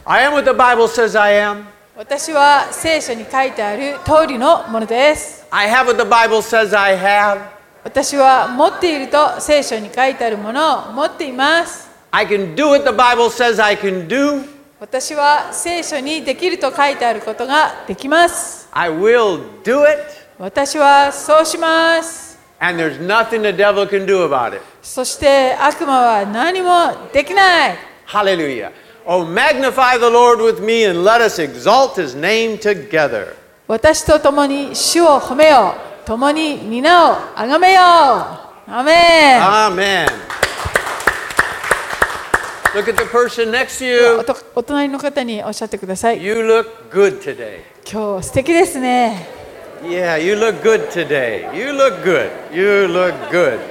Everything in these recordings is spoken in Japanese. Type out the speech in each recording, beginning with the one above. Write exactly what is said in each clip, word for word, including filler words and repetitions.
I am what the Bible says I am. 私は聖書に書いてある通りのものです。 I have what the Bible says I have. 私は持っていると聖書に書いてあるものを持っています。 I can do what the Bible says I can do. 私は聖書にできると書いてあることができます。 I will do it. 私はそうします。 And there's nothing the devil can do about it. そして悪魔は何もできない。 Hallelujah. Oh, magnify the Lord with me and let us exalt his name together. 私と共に主を褒めよう。共に皆をあがめよう。アメン。 Amen. Look at the person next to you. お隣の方におっしゃってください。 You look good today. 今日素敵ですね。 Yeah, you look good today. You look good. You look good.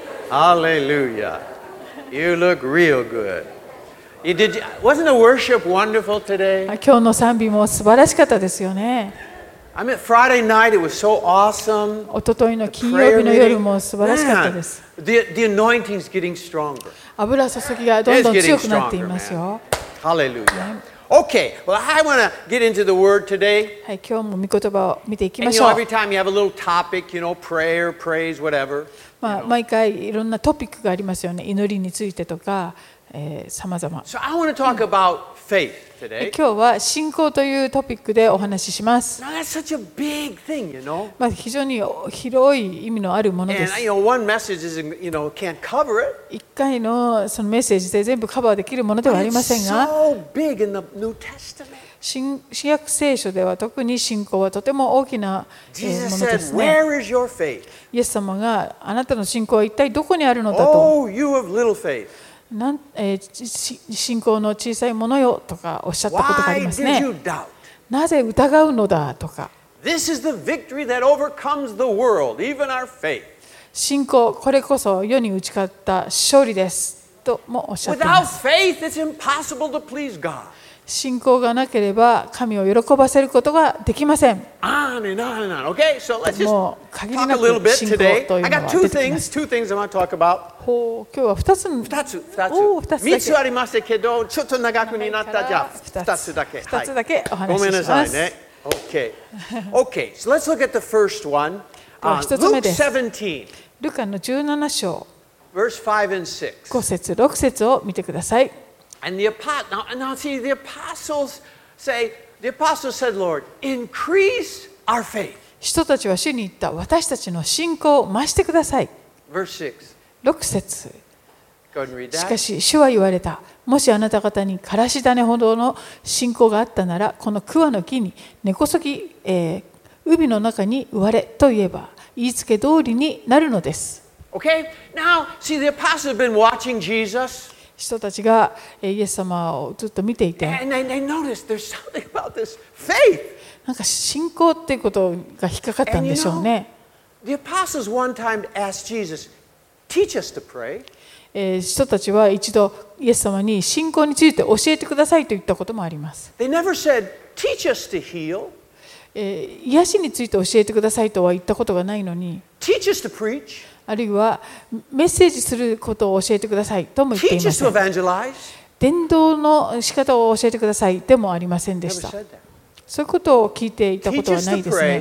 Hallelujah. You look real good. You did, wasn't the worship wonderful today? 今日の賛美も素晴らしかったですよね。 I mean, Friday night it was so awesome. おとといの金曜日の夜も素晴らしかったです。 The, the anointing's getting stronger. 油注ぎがどんどん強くなっていますよ。 Hallelujah. Okay, well, I want to get into the word today. はい、今日も御言葉を見ていきま And し you ょ know, う。 every time you have a little topic, you know, prayer, praise, whatever. まあ、毎回いろんなトピックがありますよね。祈りについてとか、えー、様々。 So I want to talk about faith today. 今日は信仰というトピックでお話しします。 Now that's such a big thing, you know. まあ、非常に広い意味のあるもので And す。 you know, one message isn't, you know, can't cover it. 一回のそのメッセージで全部カバーできるものではあり But ま it's せんが、 so big in the New Testament. 新新約聖書では特に信仰はとても大きなえー Jesus もので said, すね。 "Where is your faith?" イエス様があなたの信仰は一体どこにあるのだと、 Oh, you of little faith. なんえーし信仰の小さいものよとかおっしゃったことがあり Why ます did ね。 you doubt? なぜ疑うのだとか、 This is the victory that overcomes the world, even our faith. 信仰、これこそ世に打ち勝った勝利ですともおっしゃっていま Without す。 faith, it's impossible to please God. 信仰がなければ神を喜ばせることができません。 On and on and on. Okay, so let's just もう限り talk な a little く bit 信仰 today. という I の got は two 出てきま things, す。 two things I want to talk about. ほう今日は二つ、 二つ、二つ。 おー二つだけ三つありましたけど、ちょっと長くになったじゃあ、二つだけ。 二つだけお話ごめんなしします。 さいね。Okay. Okay, so let's look at the first one. では Uh, 一つ目 Luke です。 seventeen, ルカのじゅうなな章 verse five and six. ご節ろく節を見てください。 And the apostle, now, now see, the apostles say, the apostles said, Lord, increase our faith. 人たちは主に言った。私たちの信仰を増してください。 Verse six. ろく節。 Go ahead and read し that. かし主は言われた。もしあなた方にからし種ほどの信仰があったなら、この桑の木に根こそぎ、えー、海の中に植われと言えば、言いつけ通りになるのです。 Okay? Now, see, the apostles have been watching Jesus. 人たちがえーイエス様をずっと見ていて、 And they, they noticed there's something about this faith. なんか信仰っていうことが引っかかったんでしょうね。 The apostles one time asked Jesus, teach us to pray. えー人たちは一度イエス様に信仰について教えてくださいと言ったこともあります。 They never said, teach us to heal, えー癒しについて教えてくださいとは言ったことがないのに、 teach us to preach, あるいはメッセージすることを教えてくださいとも言ってい teach ま us せ to ん。 evangelize. 伝道の仕方を教えてくださいでもありませんで Never した。 said that. そういうことを聞いていたこ Teach とは us な to いです pray, ね。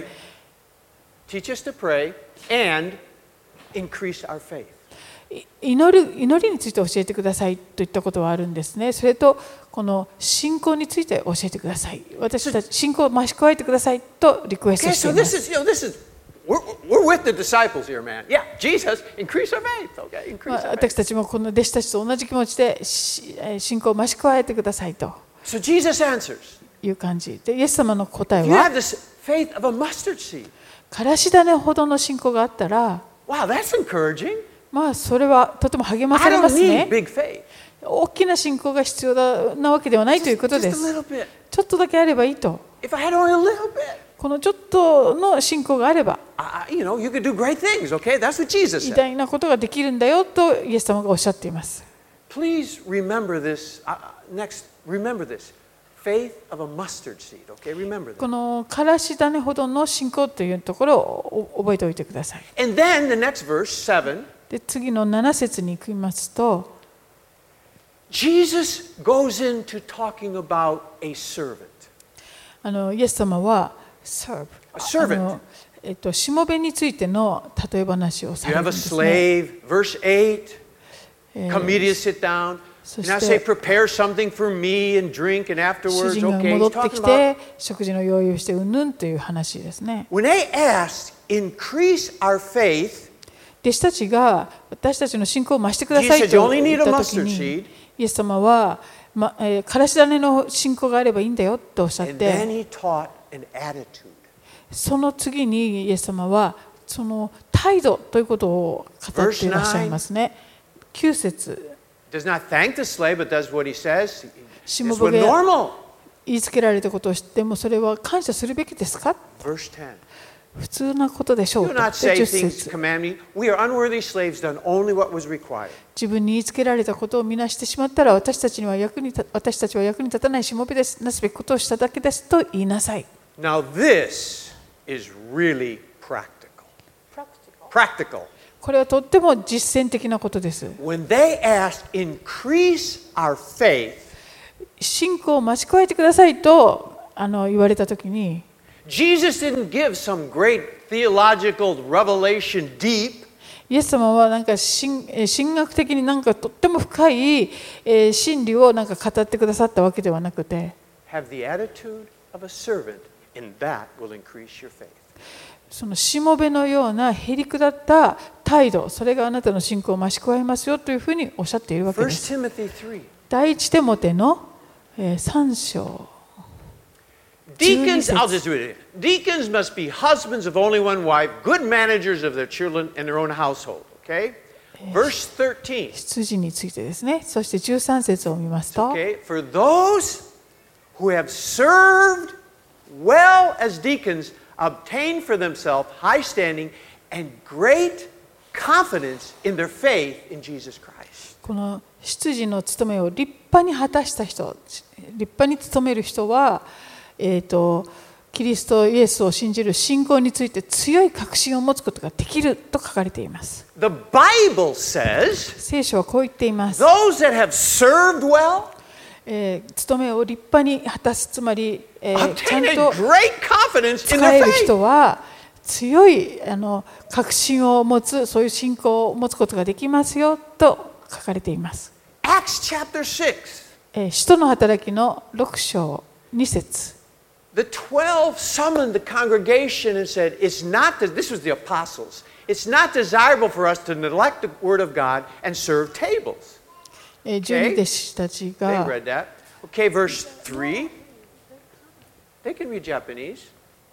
teach us to pray, and increase our faith. い祈る祈りについて教えてくださいといったことはあるんですね。それとこの信仰について教えてください。私たち信仰を増し加えてくださいとリクエスト Okay, してい so ま this す。 is, you know, this is, we're, we're with the disciples here, man. Yeah, Jesus, increase our faith, okay? ま Increase あ our faith. 私たちもこの弟子たちと同じ気持ちでしえー信仰を増し加えてくださいと So Jesus answers, いう感じで、イエス様の答え you have は this faith of a mustard seed. からし種ほどの信仰があったら、 Wow, that's encouraging. まあそれはとても励まさ I れま don't す need ね。 big faith. 大きな信仰が必要だなわけではないということ Just, で just a す。 little bit. ちょっとだけあればいいと。 If I had only a little bit, このちょっとの信仰があれば I, you know, you could do great things, okay? That's what Jesus 偉 said. 大なことができるんだよとイエス様がおっしゃっています。 Please remember this. Uh, next, remember this. Faith of a mustard seed, okay? Remember こ that. のからし種ほどの信仰というところを覚えておいてください。 And then the next verse, seven, で次のなな節に行きますと、 Jesus goes into talking about a servant. あのイエス様は serve A servant. あのえっと、しもべについての例え話をさ You れ have る a んですね。 slave, verse eight. えー Come meet you, sit down. そ And I し say, て prepare something for me and drink, and 主 afterwards, 人が okay. 戻 He's ってき talking about て食事の用意をしてうんぬんという話ですね。 when they asked, increase our faith. 弟子たちが私たちの信仰を増してください Jesus said, と "You only 言 need っ a たとき mustard に seed." イエス様は、まえー、からし種の信仰があればいいんだよとおっしゃっ And then て、 he taught an attitude. その次にイエス様はその態度ということを語っていらっしゃいますね。きゅう節 Does not thank the slave, but does what he says. し It's も what べが normal. 言いつけられたことを知ってもそれは感謝するべきですか？ Verse ten. 普通なことでしょう Do と。 not で say じゅっ things 節 command me. We are unworthy slaves, done only what was required. 自分に言いつけられたことをみなしてしまったら私たちには役に立私たちは役に立たないしもべです。なすべきことをしただけですと言いなさい。 Now this is really practical. Practical. これはとっても実践的なことです。 When they asked, increase our faith, 信仰を増し加えてくださいとあの言われたときに、 Jesus didn't give some great theological revelation deep. イエス様はなんか神えー神学的になんかとっても深い、えー真理をなんか語ってくださったわけではなくて、 Have the attitude of a servant, and that will increase your faith. そのしもべのようなへりくだった態度、それがあなたの信仰を増し加えますよというふうにおっしゃっているわけで First す。 Timothy three. 第一テモテのえーさん章。 Deacons, I'll just do it. Deacons must be husbands of only one wife, good managers of their children and their own household. Okay? Verse thirteen. 羊についてですね。そしてじゅうさん節を見ますと、 Okay? For those who have served well as deacons obtain for themselves high standing and great confidence in their faith in Jesus Christ. この執事の務めを立派に果たした人、立派に務める人は、えーと、キリストイエスを信じる信仰について強い確信を持つことができると書かれています。 The Bible says 聖書はこう言っています。 those that have served well えー、務めを立派に果たす、つまり、えー、ちゃ obtain ん a と great confidence in 使 their える faith. 人は強いあの確信を持つ、そういう信仰を持つことができますよと書かれています。 Acts chapter six. えー、使徒の働きのろく章に節。 The twelve summoned the congregation and said, it's not, that, this was the apostles, it's not desirable for us to neglect the word of God and serve tables. えー、十二弟子たち They が read that. Okay, verse three. They can read Japanese.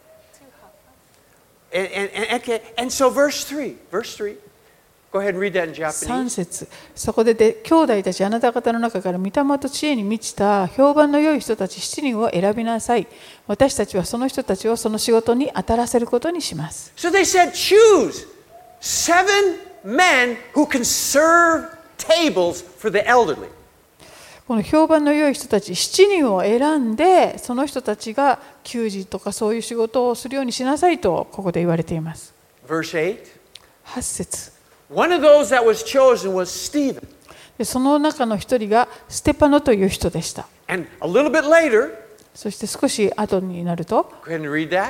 And, and, and, okay, and so verse three, verse three. Go ahead and read that in さん Japanese. 節、そこでで兄弟たちあなた方の中から御霊と知恵に満ちた評判の良い人たちしちにんを選びなさい。私たちはその人たちをその仕事に当たらせることにします。 So they said, choose seven men who can serve tables for the elderly. この評判の良い人たちしちにんを選んで、その人たちが給仕とかそういう仕事をするようにしなさいとここで言われています。 Verse eight. はち節。 One of those that was chosen was Stephen. でその中の一人がステパノという人でした。 And a little bit later, そして少し後になると、 go ahead and read that.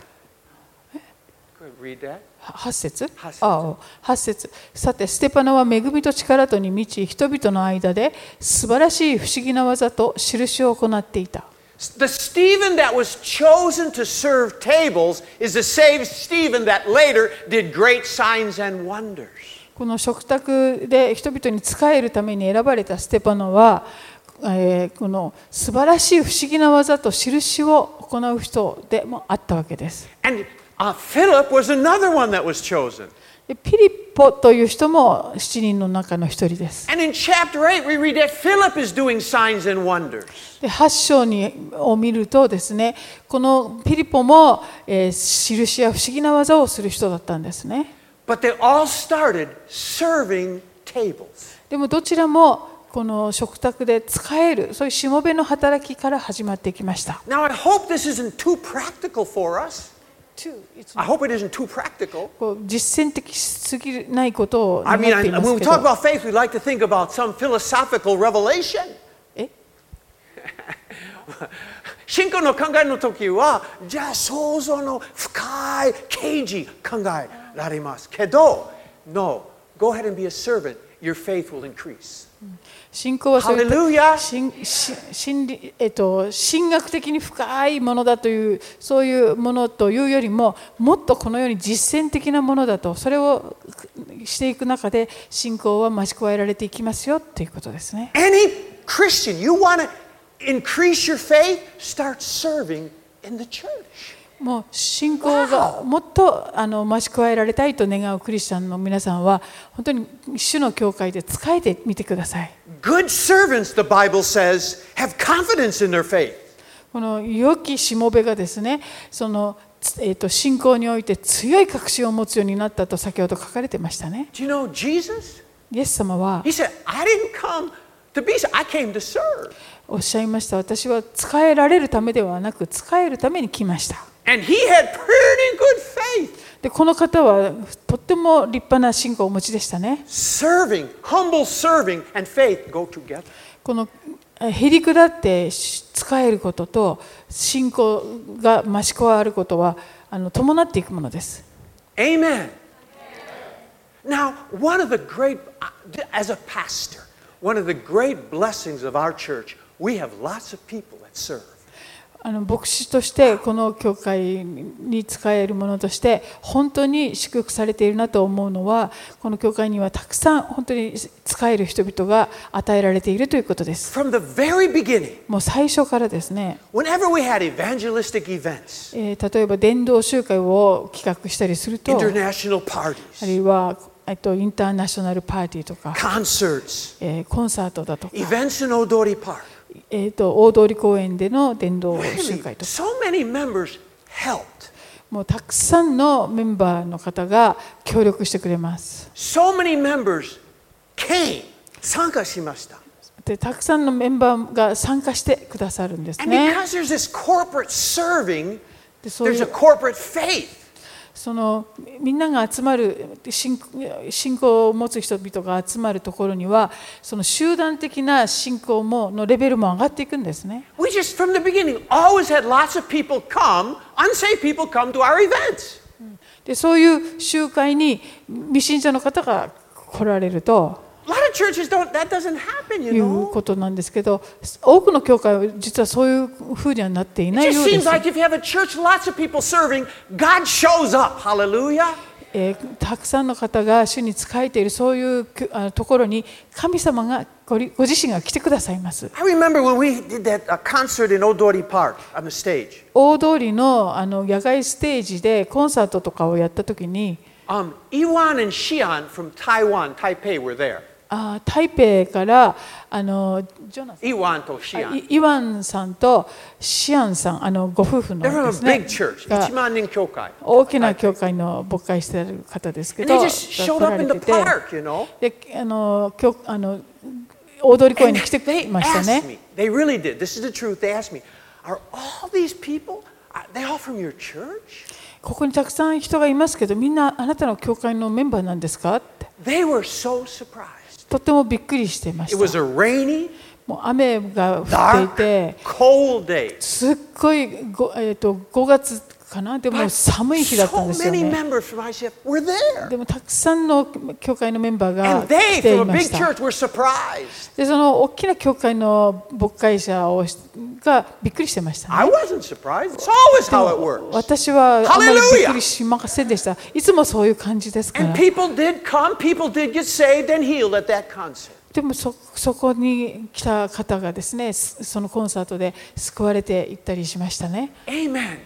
Go ahead and read that. はち節八節ああはち節さて、ステパノは恵みと力とに満ち、人々の間で素晴らしい不思議な技と印を行っていた。 The Stephen that was chosen to serve tables is the same Stephen that later did great signs and wonders. この食卓で人々に仕えるために選ばれたステパノは、えーこの素晴らしい不思議な技と印を行う人でもあったわけです。 And uh, Philip was another one that was chosen. でピリポという人もしちにんの中の一人です。 And in chapter eight, we read that Philip is doing signs and wonders. ではち章にを見るとですね、このピリポも、えー印や不思議な技をする人だったんですね。 But they all started serving tables. でもどちらもこの食卓で使える、そういうしもべの働きから始まってきました。 Now, I hope this isn't too practical for us. too, it's I hope it isn't too practical. こう実践的すぎないことを I 願 mean, ってい I, ます when we け talk ど、 about faith, we like to think about some philosophical revelation. え信仰の考えの時は、じゃあ想像の深い啓示考えられますけど、No, go ahead and be a servant. Your faith will increase. 信仰はそういった Hallelujah. 心心心理えっと、神学的に深いものだというそういうものというよりももっとこのように実践的なものだとそれをしていく中で信仰は増し加えられていきますよということですね。 Any Christian, you want to increase your faith, start serving in the church. もう信仰がもっとあの増し加えられたいと願うクリスチャンの皆さんは本当に主の教会で仕えてみてください。 Good servants, the Bible says, have confidence in their faith. この良きしもべがですね、その、えー、と信仰において強い確信を持つようになったと先ほど書かれてましたね。 Do you know Jesus? イエス様は He said, I didn't come to be served, I came to serve. おっしゃいました。私は仕えられるためではなく仕えるために来ました。 And he had pretty good faith. でこの方はとっても立派な信仰をお持ちでしたね。 Serving, humble serving, and faith go together. このへりくだって仕えることと信仰が増し加わることはあの伴っていくものです。 Amen. Now, one of the great, as a pastor, one of the great blessings of our church, we have lots of people that serve. あの牧師としてこの教会に仕えるものとして本当に祝福されているなと思うのはこの教会にはたくさん本当に仕える人々が与えられているということです。 From the very beginning, もう最初からですね、 whenever we had evangelistic events, えー例えば伝道集会を企画したりすると、あ international る い parties, はえっとインターナショナルパーティーとか、 concerts, えーコンサートだとか、 events in Odori Park. えーと大通公園での伝道集 Really, 会とか、 so many members helped. もうたくさんのメンバーの方が協力してくれます。 So many members came, 参加しました。 でたくさんのメンバーが参加してくださるんです And ね。 because there's this corporate serving, でそうい there's a う corporate faith. そのみんなが集まる信信仰を持つ人々が集まるところにはその集団的な信仰ものレベルも上がっていくんですね。 We just, from the beginning, always had lots of people come, unsaved people come to our events. でそういう集会に未信者の方が来られると A lot of churches don't, that doesn't happen, you いう know. ことなんですけど、多くの教会は実はそういうふうにはなってい It ないよ just うで seems す。 like if you have a church, lots of people serving, God shows up. Hallelujah. えーたくさんの方が主に仕えているそういうあのところに神様がごりご自身が来てくださいます。 I remember when we did that uh, concert in Odori Park on the stage. 大通りのあの野外ステージでコンサートとかをやったときに、 Um, Iwan and Xian from Taiwan, Taipei were there. あ台北からあのジョナサン Iwan to あ Xian. イイワンさんとシアンさん、あのご夫婦の They're で from す a ね big church, が Ichiman Nin Kyokai. 大きな教会の牧会している方ですけ And ど、 they just showed 来ら up れ in the てて、 park, you know. であの教あの大通公園 And に来てくれ they ました asked ね。 me, they really did. This is the truth. They asked me, are all these people, are they all from your church? ここにたくさん人がいますけど、みんなあなたの教会のメンバーなんですかって、 They were so surprised. とってもびっくりしていまし It was た。 a rainy, もう雨が降ってい dark, て、 cold day. すっごいご、えー、とごがつかな、でも But 寒い日だったん so ですよ many ね。 members from I C F were there. でもたくさんの教会のメンバーが And they, 来てい from a ま big した。 church, were surprised. でその大きな教会の牧会者をがびっくりしてましたね。 I wasn't surprised. It's always how it works. 私はあまりびっ Hallelujah! くりしませんでした。いつもそういう感じですから And。people did come, people did get saved and healed at that concert. でも そ, そこに来た方がですね、そのコンサートで救われていったりしましたね。 Amen.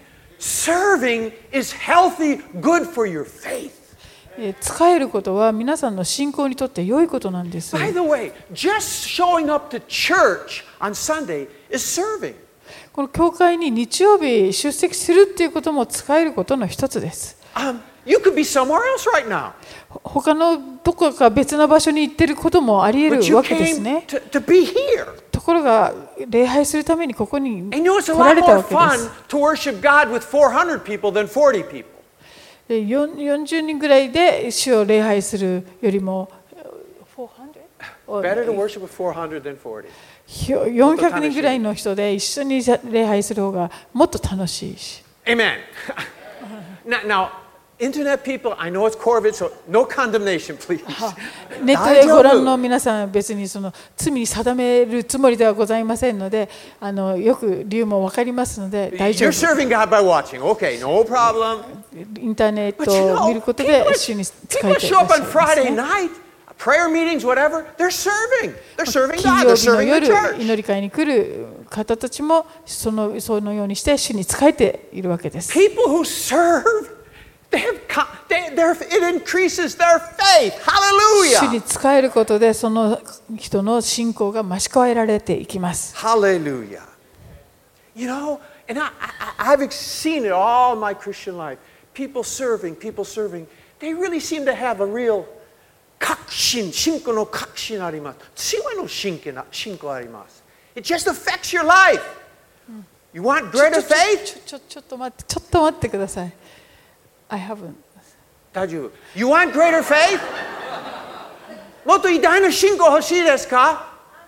Serving is healthy, good for your faith. えー使えることは皆さんの信仰にとって良いことなんです。 By the way, just showing up to church on Sunday is serving. この教会に日曜日出席するっていうことも使えることの一つです。 Um, you could be somewhere else right now, ほ他のどこか別な場所に行ってることもあり得 but る you わけです came ね。 to, to be here. とところが礼拝するためにここに And you know, it's a 来ら lot れた more わけで fun す。 to worship God with four hundred people than forty people. でよんよんじゅうにんぐらいで主を礼拝するよりも Better to worship with four hundred than forty. よんひゃくにんぐらいの人で一緒に礼拝する方がもっと楽しいし。 Amen. now, now, internet people, I know it's Corvid, so no condemnation, please. ネットでご覧の皆さんは別にその罪に定めるつもりではございませんので、あのよく理由も分かりますので大丈 You're 夫。 serving God by watching. Okay, no problem. インターネッ But ト you を見 know, ること people, で主に使 people えてい show らっ up しゃ on います Friday ね。 night, prayer meetings, whatever. They're serving. They're serving 金 God. 曜 They're 日の serving the 夜、 church. 祈り会に来る方たちもそのそのようにして主に仕えているわけです。 People who serve, they have, co- they, they're, it increases their faith. 主 Hallelujah. に仕えることでその人の信仰が増し加えられていきます。 Hallelujah. You know, and I, I, I've seen it all my Christian life. People serving, people serving. They really seem to have a real 確信、信仰の確信あります。強いの信仰な信仰あります。It just affects your life. You want ちょ greater ちょ faith? ちょちょちょっと待ってちょっと待ってください。I haven't. 大丈夫。You want greater faith? もっと偉大な信仰欲しいですか？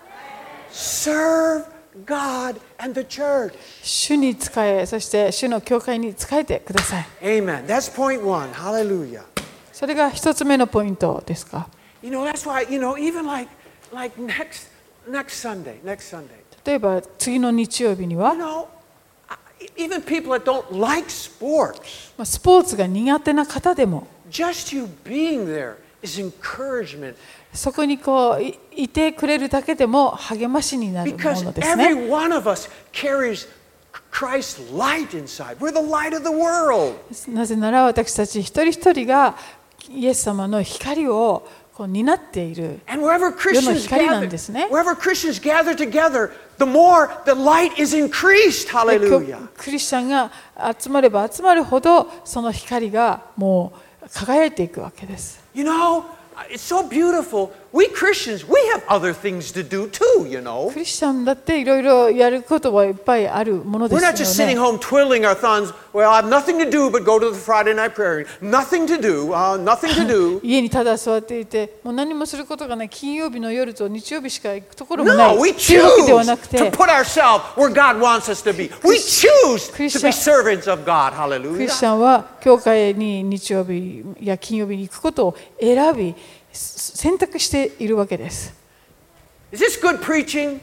Serve God and the church. 主に仕え、そして主の教会に仕えてください。 Amen. That's point one. Hallelujah. それが一つ目のポイントですか。 You know, that's why, you know, even like, like next, next Sunday, next Sunday, 例えば次の日曜日には you、know, I- even people that don't like sports, まあスポーツが苦手な方でも、 just you being there is encouragement そこにこうい、いてくれるだけでも励ましになるも because のです every ね。 one of us carries Christ's light inside. We're the light of the world. なぜなら私たち一人一人がイエス様の光をこう担っている。 And wherever 世の Christians 光なん gather, ですね。 wherever Christians gather together, the more the light is increased. で Hallelujah. クリスチャンが集まれば集まるほどその光がもう輝いていくわけです。 You know, it's so beautiful. We Christians, we have other things to do too, you know. クリスチャンだっていろいろやることはいっぱいあるもので We're す not just よ sitting ね。 home twiddling our thumbs. Well, I have nothing to do but go to the Friday night prayer. Nothing to do, uh, nothing to do. 家にただ座っていて、もう何もすることがない金曜日の夜と日曜日しか行くところもない No, we というわけではなく choose て to、put ourselves where God wants us to be. We choose to be servants of God. クリス Hallelujah. チャンは教会に日曜日や金曜日に行くことを選び、選択しているわけです。 Is this good preaching?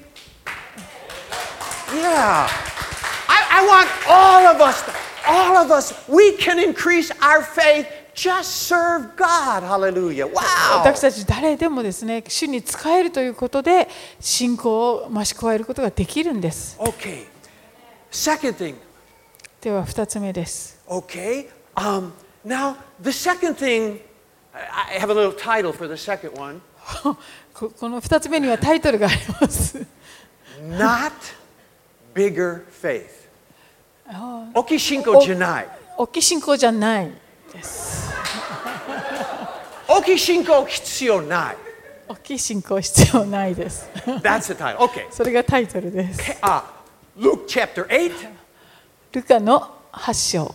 Yeah. I, I want all of us, all of us, we can increase our faith. Just serve God. Hallelujah. Wow. 私たち誰でもですね、主に仕えるということで信仰を増し加えることができるんです。 Okay. Second thing. では二つ目です。 Okay. Um, now, the second thing, I I have a little title for the second one. ここの二つ目にはタイトルがあります。 Not bigger faith. 大きい信仰じゃない。 大きい信仰じゃないです。 大きい信仰必要ない。 大きい信仰必要ないです。 That's the title. Okay. それがタイトルです。 Uh, Luke chapter eight. ルカのはち章。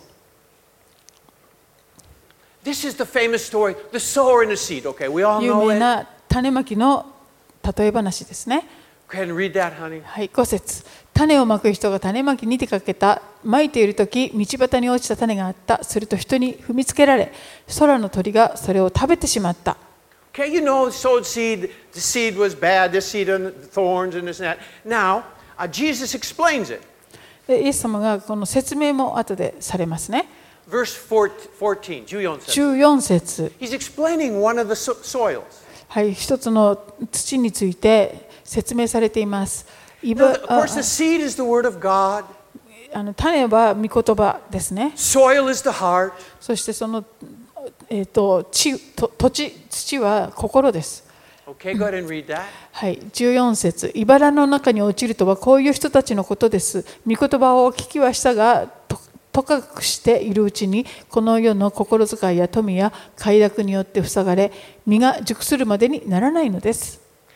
This is the famous story, the sower and the seed. Okay, we all 有 know 名 it. な種まきの例え話ですね。 Go ahead and read that, honey. はい、ご節。種をまく人が種まきに出かけた。まいているとき、道端に落ちた種があった。すると人に踏みつけられ、空の鳥がそれを食べてしまった。 Okay, you know, sowed seed, the seed was bad, this seed and thorns and this and that. Now, uh, Jesus explains it. でイエス様がこの説明も後でされますね。 Verse fourteen, じゅうよん節. じゅうよん節。 He's explaining one of the so- soils. はい、一つの土について説明されています。い Now, ば of course, the seed is the word of God. あの種は御言葉ですね。 Soil is the heart. そしてその、えー、と地と土地、土は心です。 Okay, go ahead and read that. はい、じゅうよん節。茨の中に落ちるとはこういう人たちのことです。御言葉を聞きはしたが、ととかくしているうちに、この世の心遣いや富や快楽によって塞がれ、実が熟するまでにならないのです。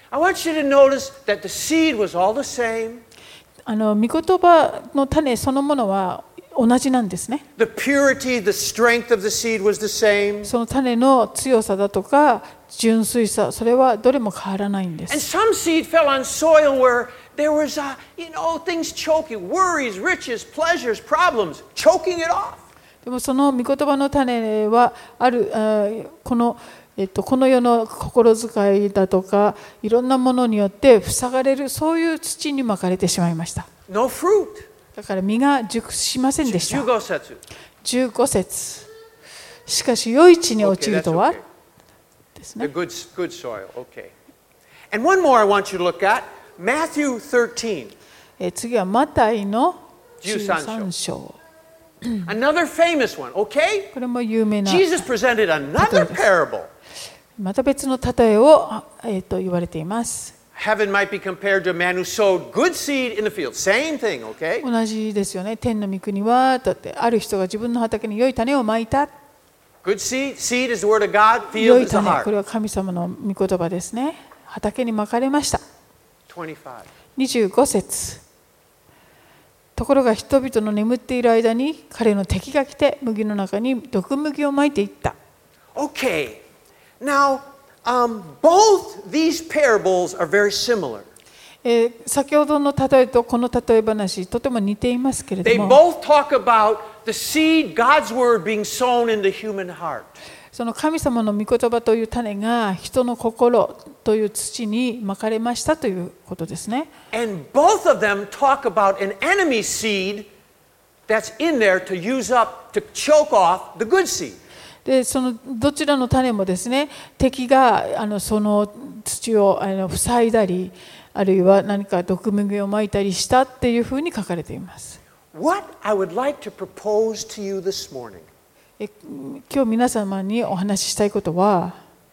I want you to notice that the seed was all the same. あの御言葉の種そのものは同じなんですね。 The purity, the strength of the seed was the same. その種の強さだとか純粋さ、それはどれも変わらないんで And す。 some seed fell on soil where there was, uh, you know, things choking, worries, riches, pleasures, problems, choking it off. でもその御言葉の種はある、あこのえっと、この世の心遣いだとかいろんなものによって塞がれる、そういう土に巻かれてしまいました。 No fruit. だから実が熟しませんでした。 じゅうご節。 じゅうご節。しかし良い地に落ちるとは、 Okay, ですね。 the good, good soil. Okay. And one more I want you to look at, Matthew thirteen. え次はマタイのじゅうさんじゅうさん章。 Another famous one, okay? これも有名な、 Jesus presented another parable. また別の例えを、えー、と言われています。 Heaven might be compared to a man who sowed good seed in the field. Same thing, okay? 同じですよね。天の御国はだってある人が自分の畑に良い種をまいた。 Good seed, seed is the word of God, 良 field い is the 種、こ heart. れは神様の御言葉ですね。畑にまかれました。 twenty-five. にじゅうご節。ところが人々の眠っている間に彼の敵が来て麦の中に毒麦をまいていった。 Okay. Now, um, both these parables are very similar. えー先ほどの例えとこの例え話、とても似ていますけれ They ども、 both talk about the seed, God's word being sown in the human heart. その神様の御言葉という種が人の心という土にまかれましたということですね。 And both of them talk about an enemy seed that's in there to use up, to choke off the good seed. でそのどちらの種もですね、敵があのその土をあの塞いだり、あるいは何か毒麦をまいたりしたっていうふうに書かれています。 What I would like to propose to you this morning, え今日皆様にお話ししたいことは、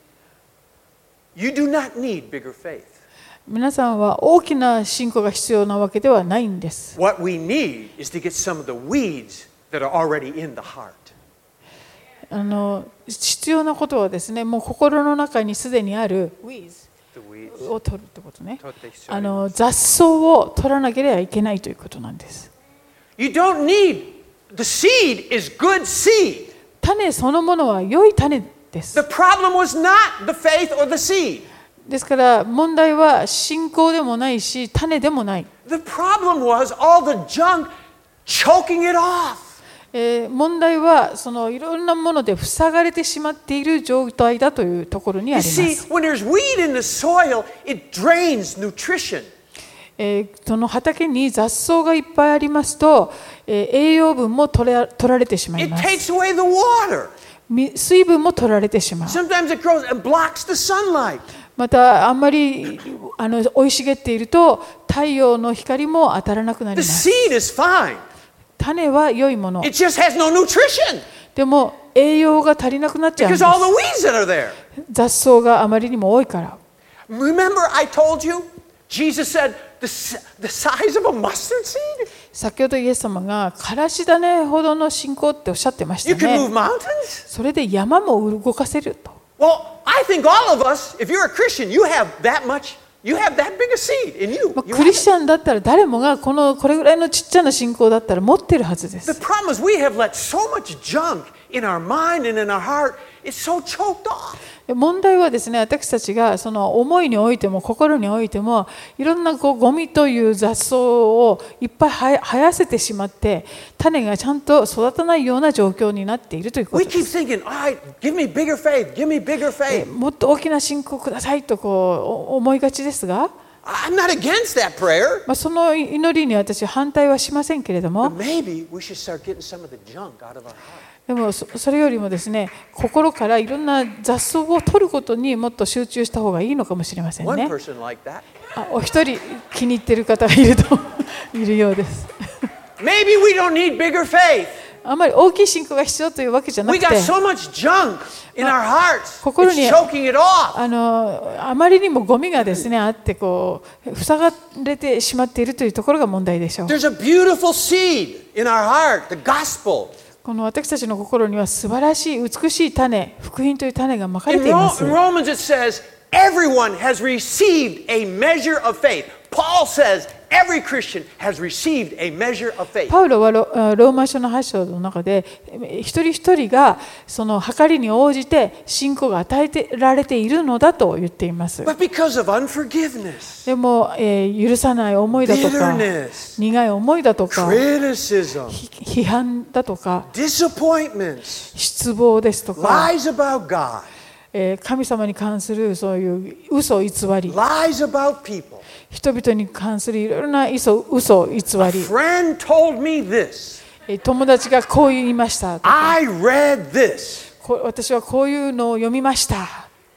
you do not need bigger faith. 皆さんは大きな信仰が必要なわけではないんです。 What we need is to get some of the weeds that are already in the heart. あの必要なことはですね、もう心の中にすでにある weeds The weeds. を取るってことね。 取って必要あの雑草を取らなければいけないということなんです。 You don't need, the seed is good seed. 種そのものは良い種です。 The problem was not the faith or the seed. ですから問題は信仰でもないし種でもない。 The problem was all the junk choking it off. えー問題はそのいろんなもので塞がれてしまっている状態だというところにあ You りま see, す。 when there's weed in the soil, it drains nutrition. えーその畑に雑草がいっぱいありますと、えー栄養分も取ら取られてしまい It ます。 takes away the water. み水分も取られてしまう。 Sometimes it grows and blocks the sunlight. またあんまりあの生い茂っていると太陽の光も当たらなくなり The ます。 seed is fine. 種は良いもの。 It just has no nutrition でも栄養が足りなくなっちゃうんで because す。 all the weeds that are there. 雑草があまりにも多いから。 Remember, I told you, Jesus said, the, s- the size of a mustard seed? 先ほどイエス様がからし種ほどの信仰っておっしゃってまし You た can move ね。 mountains? それで山も動かせると。 Well, I think all of us, if you're a Christian, you have that much, you have that big a seed in you. まあ You クリ have スチャンだったら誰もがこのこれぐらいのちっちゃな信仰だったら持ってるはずで The す。 problem is we have let so much junk in our mind and in our heart, it's so choked off. 問題はですね、私たちがその思いにおいても心においてもいろんなこうゴミという雑草をいっぱい生生やせてしまって種がちゃんと育たないような状況になっているというこ We とで keep す。 thinking, all right, give me bigger faith, give me bigger faith. もっと大きな信仰くださいとこう思いがちですが、 I'm not against that prayer, まあ、その祈りに私は反対はしませんけれども、 but maybe we should start getting some of the junk out of our heart. でもそそれよりもですね、心からいろんな雑草を取ることにもっと集中した方がいいのかもしれません One ね。 person like that. あ、お一人気に入っている方がいるといるようです。 Maybe we don't need bigger faith. あまり大きい信仰が必要というわけじゃな We くて、 got so much junk in our hearts. 心に It's choking it off. あのあまりにもゴミがですねあってこう塞がれてしまっているというところが問題でしょう。 There's a beautiful seed in our heart, the gospel. この私たちの心には素晴らしい美しい種、福音という種がまかれ In, ていま Ro- す。 in Romans it says, everyone has received a measure of faith. Paul says every Christian has received a measure of faith. パウロは ロ, ローマ書のはち章の中で一人一人がその計りに応じて信仰が与えてられているのだと言っています。 But because of unforgiveness, でも、えー、許さない思いだとか bitterness, 苦い思いだとか criticism, 批判だとか disappointments, 失望ですとか、 lies about God, えー神様に関するそういう嘘偽り、 lies about people. 人々に関するいろいろな嘘嘘偽 A り、 friend told me this. えー友達がこう言いましたとか、 I read this. こ私はこういうのを読みました。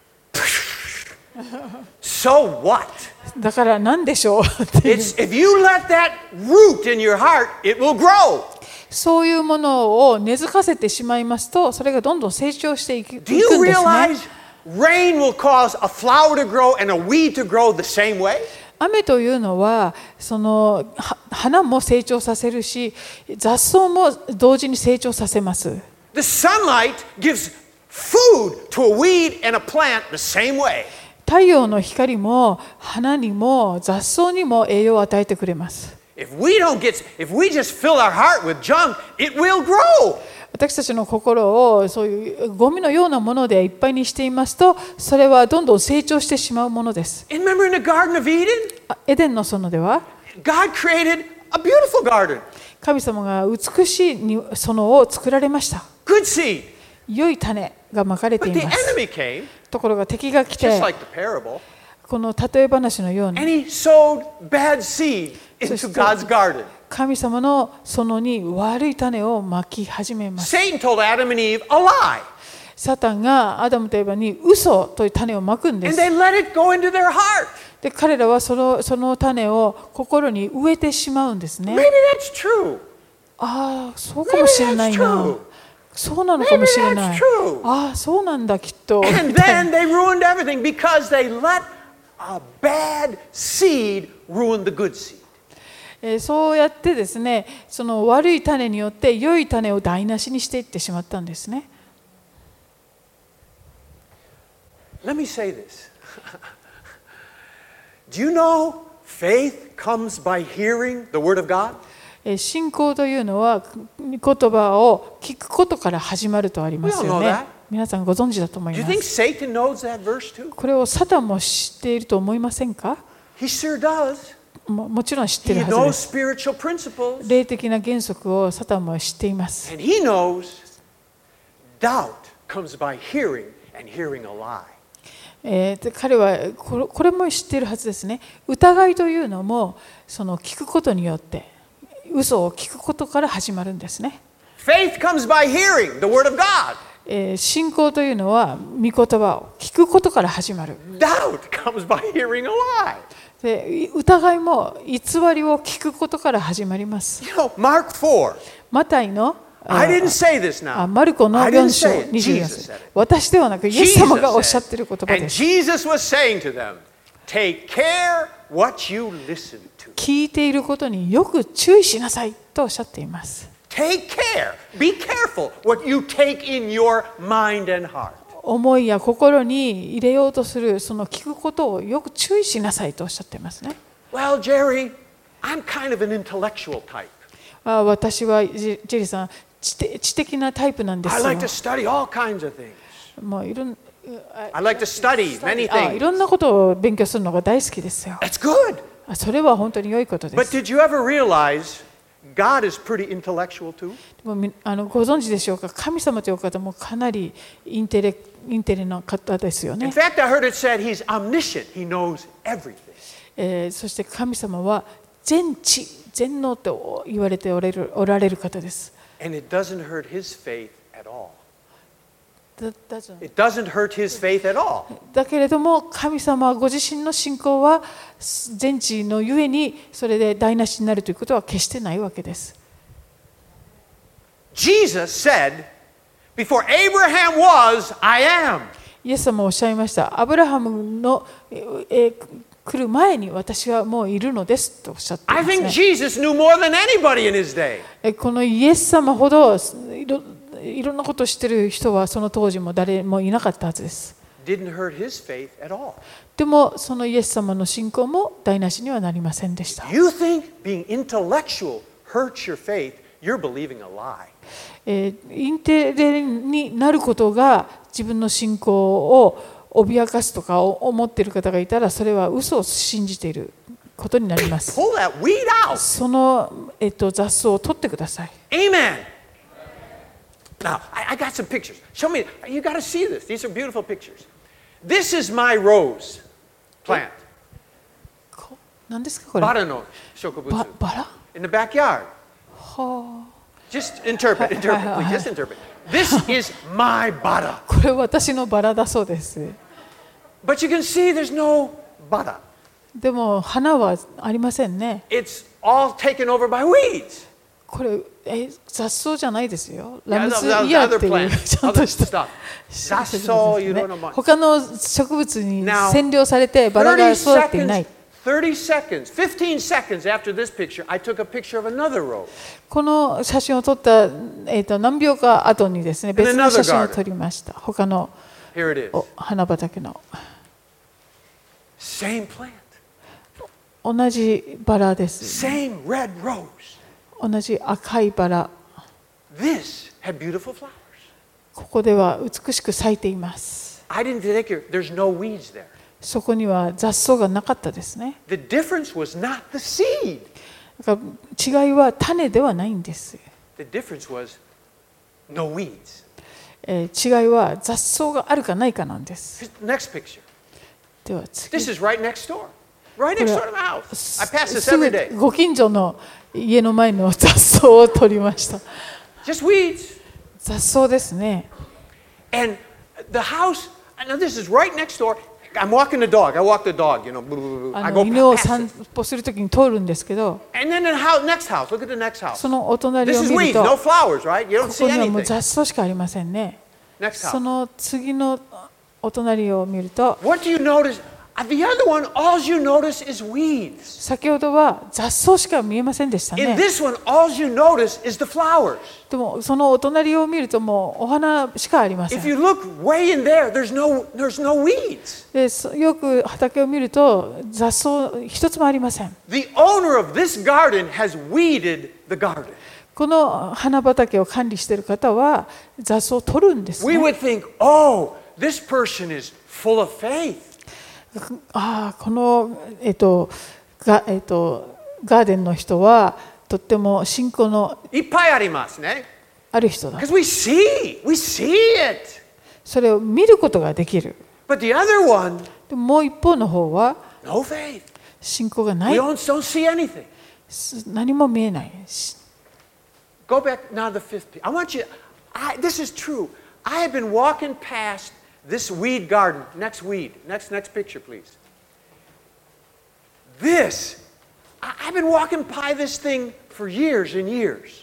So what? だから何でしょうっていう It's if you let that root in your heart, it will grow. そういうものを根付かせてしまいますと、それがどんどん成長していくいくん Do です you ね。 realize rain will cause a flower to grow and a weed to grow the same way? 雨というのはそのは花も成長させるし、雑草も同時に成長させます。 The sunlight gives food to a weed and a plant the same way. 太陽の光も花にも雑草にも栄養を与えてくれます。 If we don't get, if we just fill our heart with junk, it will grow. 私たちの心をそういうゴミのようなものでいっぱいにしていますと、それはどんどん成長してしまうものです。 And remember in the Garden of Eden, あエデンの園では God created a beautiful garden, 神様が美しい園を作られました。 good seed. 良い種がまかれて But い the ます。 enemy came, ところが敵が来 just て、 like the parable, この例え話のよう and に he sowed bad seed into So- God's garden. 神様の園に悪い種をまき始めます。 Satan told Adam and Eve a lie, サタンがアダムとエバに嘘という種をまくんで and す。 they let it go into their heart. で、彼らはその、その種を心に植えてしまうんですね。 Maybe that's true. ああ、そうかもしれない Maybe that's な true.。 そうなのかもしれない Maybe that's true.。 ああ、そうなんだ、きっと。 And みたい then な they ruined everything because they let a bad seed ruin the good seed. えーそうやってですね、その悪い種によって良い種を台無しにしていってしまったんですね。 Let me say this. Do you know faith comes by hearing the word of God? えー信仰というのは言葉を聞くことから始まるとありますよ We all know ね that.。 皆さんご存知だと思い Do you ま think す。 Satan knows that verse too? これをサタンも知っていると思いませんか？ He sure does. ももちろん知ってい He るはず knows です。 spiritual principles. 霊的な原則をサタンも知っています。 And he knows doubt comes by hearing and hearing a lie. えーで彼はこれ、これも知っているはずですね。疑いというのもその聞くことによって嘘を聞くことから始まるんですね。 Faith comes by hearing the word of God. えー信仰というのは御言葉を聞くことから始まる。 Doubt comes by hearing a lie. で疑いも偽りを聞くことから始まります。 You know, Mark four. マタイの I didn't say this あ now. マルコの I よん didn't 章 say it. にじゅうよん Jesus 節 said it. 私ではなくイエス Jesus 様がおっしゃってい said, る言葉 and です。 Jesus was saying to them, take care what you listen to. 聞いていることによく注意しなさいとおっしゃっています。 Take care. Be careful what you take in your mind and heart. 思いや心に入れようとするその聞くことをよく注意しなさいとおっしゃっていますね。 Well, Jerry, I'm kind of an intellectual type. あ私はジジェリーさん知的、知的なタイプなんです I よ。 like to study all kinds of things. もういろん I like to study many あいろ things. んなことを勉強するのが大好きですよ。 That's good. あそれは本当に良いことで But す。 did you ever realize God is pretty intellectual too? でもみあのご存知でしょうか、神様という方もかなりインテレインテリな方ですよ In ね。 fact, I heard it said he's omniscient. He knows everything. えーそして神様は全知全能と言われておられるおられる方です。 And it doesn't hurt his faith at all. だだじゃ It doesn't hurt his faith at all. だけれども神様ご自身の信仰は全知のゆえにそれで台無しになるということは決してないわけです。 Jesus said, before Abraham was, I am. イエス様おっしゃいました。アブラハムの、えー来る前に私はもういるのですとおっしゃってい I ます think ね。 Jesus knew more than anybody in his day. えこのイエス様ほどいろいろんなことを知っている人はその当時も誰もいなかったはずです。 didn't hurt his faith at all. でもそのイエス様の信仰も台無しにはなりませんでした。 You think being intellectual hurts your faith, you're believing a lie. えーインテリになることが自分の信仰を脅かすとか思っている方がいたら、それは嘘を信じていることになります。 Pull that weed out. その、えっと、雑草を取ってください。 Amen. Now, I, I got some pictures. Show me. You got to see this. These are beautiful pictures. This is my rose plant. こ何ですかこれ？ バラの植物。 ババラ？ In the backyard. はあ。 Just interpret, interpret, please. Just interpret. This is my bada. これ私のバラだそうです。 But you can see there's no bada. でも花はありませんね。 It's all taken over by weeds. これえ雑草じゃないですよ。 Yeah, ラム the- ス the- イ the ヤー other っていう plant, ちゃんと other した stuff. 植物です雑草、いろねんなもの。 他の植物に Now, 占領されてバラが育っていない。 thirty seconds, fifteen seconds after this picture, I took a picture of another rose. この写真を撮った、えー、と何秒か後にですね、別の写真を撮りました。他の Here it is. お花畑の Same plant, 同じバラです。 same red rose. 同じ赤いバラ。 This had beautiful flowers. ここでは美しく咲いています。 I didn't take it. There's no weeds there. そこには雑草がなかったですね。 The difference was not the seed. だから違いは種ではないんです。 The difference was no weeds. えー違いは雑草があるかないかなんです。 Next picture. では次。 This is right next door. Right これ next は door to the house. I pass this す every ぐ day. ご近所の家の前の雑草を取りました。 Just weeds. 雑草ですね。 And the house, now this is right next door. I'm walking the dog. I walk the dog, you know. blah, blah, blah. あ I の go 犬を past 散 it. 歩するときに通るんですけど、 And then the house, next house. Look at the next house. そのお隣 This を is 見 weeds, ると、 no こ flowers, right? You don't こ see にはもう anything. 雑草しかありませんね。 Next そ house. の次のお隣を見ると、 What do you notice? Uh, The other one, all you notice is weeds. 先ほどは雑草しか見えませんでした In ね。 this one, all you notice is the flowers. でもそのお隣を見るともうお花しかありませ If ん。 you look way in there, there's no, there's no weeds. でそよく畑を見ると雑草一つもありません。 The owner of this garden has weeded the garden. この花畑を管理している方は雑草を取るんです We ね。 would think, oh, this person is full of faith. ああ、この、えっとがえっと、ガーデンの人はとっても信仰のいっぱいありますね。 ある人だ。 Because we see, we see it. それを見ることができる。 But the other one, でももう一方の方は no faith. 信仰がな We い。 don't, don't see anything. 何も見えない。 Go back now to the fifth. pi- I want you, I, this is true. I have been walking past this weed garden. Next weed. Next, next picture, please. This, I, I've been walking by this thing for years and years.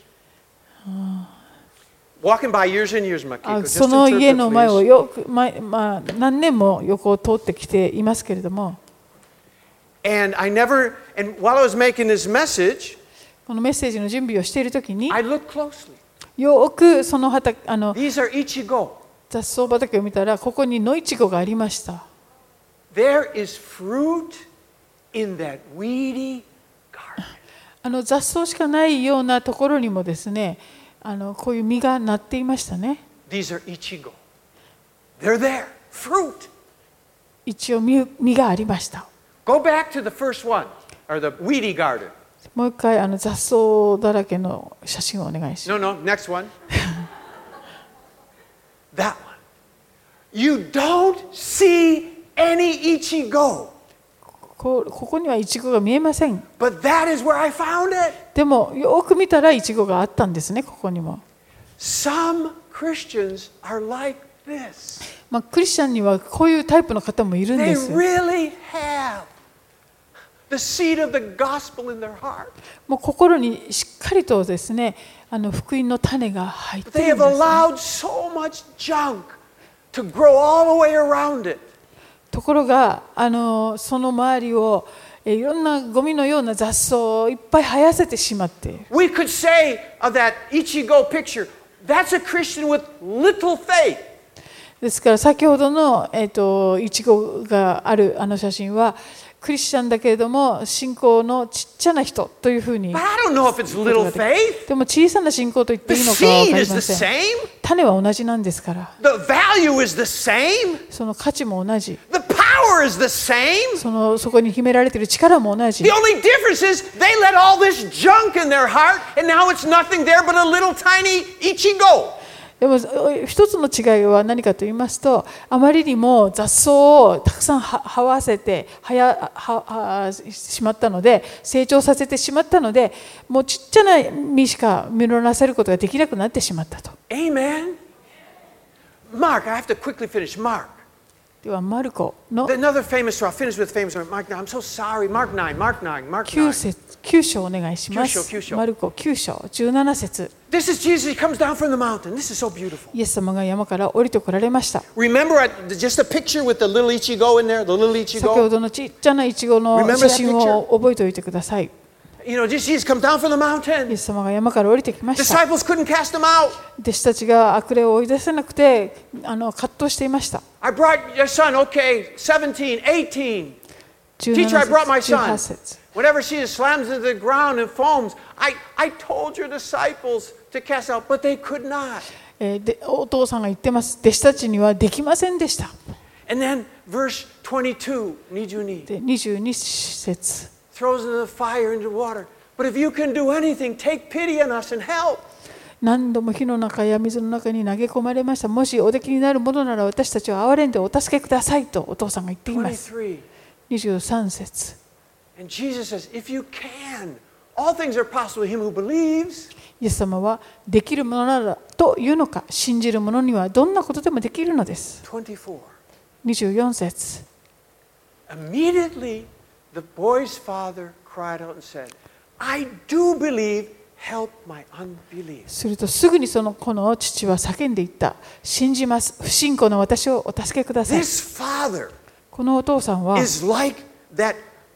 Walking by years and years, あ Makiko. Just その家の前 interpret, を please. よく、ままあ、何年も横を通ってきていますけれども、 And I never, and while I was making this message, このメッセージの準備をしているときに I looked closely. よくその畑あの These are ichigo. 雑草畑を見たらここに野いちごがありました。 There is fruit in that weedy garden. あの雑草しかないようなところにもですね、あのこういう実がなっていましたね。 These are ichigo. They're there. Fruit. 一応実実がありました。 Go back to the first one, or the weedy garden. もう一回あの雑草だらけの写真をお願いします。 No, no, next one. That one. You don't see any ichigo. こうここにはイチゴが見えません。 But that is where I found it. でもよく見たらイチゴがあったんですね、ここにも。 Some Christians are like this. まあ、クリスチャンにはこういうタイプの方もいるん They です。 really have the seed of the gospel in their heart. もう心にしっかりとですね、あの福音の種が入っ But て they るん have です、ね。 allowed so much junk to grow all the way around it. ところがあのその周りをえいろんなゴミのような雑草をいっぱい生やせてしまって、 We could say of that ichigo picture, that's a Christian with little faith. ですから先ほどの、えーと、イチゴがあるあの写真はクリスチャンだけれども信仰のちっちゃな人というふうに。 But I don't know if it's little faith. でも小さな信仰と言っていいのか The は分 seed かり is ま the せん。 same. 種は同じなんですから。 The value is the same. その価値も同じ。 The power is the same. そのそこに秘められている力も同じ。 The only difference is they let all this junk in their heart, and now it's nothing there but a little tiny ichigo. でも一つの違いは何かと言いますと、あまりにも雑草をたくさんはわせてはやははしまったので、成長させてしまったので、もうちっちゃな実しか実らせることができなくなってしまったと。 Amen. Mark, I have to quickly finish. Mark. ではマルコの Another famous story. I'll finish with famous story. Mark nine. I'm so sorry. Mark nine. Mark nine. Mark 9 nine. 節きゅう章お願いしまきゅう章す。 きゅう章マルコきゅう章じゅうなな節。 This is Jesus. He comes down from the mountain. This is so beautiful. イエス様が山から降りてこられました。 Remember at, just a picture with the little ichigo in there, the little 先ほ ichigo. どのちっちゃなイチゴの Remember that 写真を覚えておいてください。 You know, Jesus comes down from the イ mountain. エス様が山から降りてきました。 Disciples couldn't cast him out. 弟子たちが悪霊を追い出せなくてあの葛藤していました。 I brought your son, okay, seventeen, eighteen. 17 Teacher, I brought my 節、じゅうは son. ち節。 Whenever she slams into the ground and foams, I, I told your disciples to cast out, but they could not. えーでお父さんが言ってます。弟子たちにはできませんでした。 And then verse twenty-two, にじゅうに, でにじゅうに節。 throws into the fire, into water. But if you can do anything, take pity on us and help. 何度も火の中や水の中に投げ込まれました。もしおできになるものなら私たちを憐れんでお助けくださいとお父さんが言っています。 twenty-three. にじゅうさん節。 And Jesus says, if you can, all things are possible to him who believes. イエス様はできるものならというのか、信じる者にはどんなことでもできるのです。 twenty-four. にじゅうよん節。 Immediately, the boy's father cried out and said, I do believe, help my unbelief. するとすぐにその子の父は叫んでいった。信じます。不信仰の私をお助けください。 This father このお父さんは is like that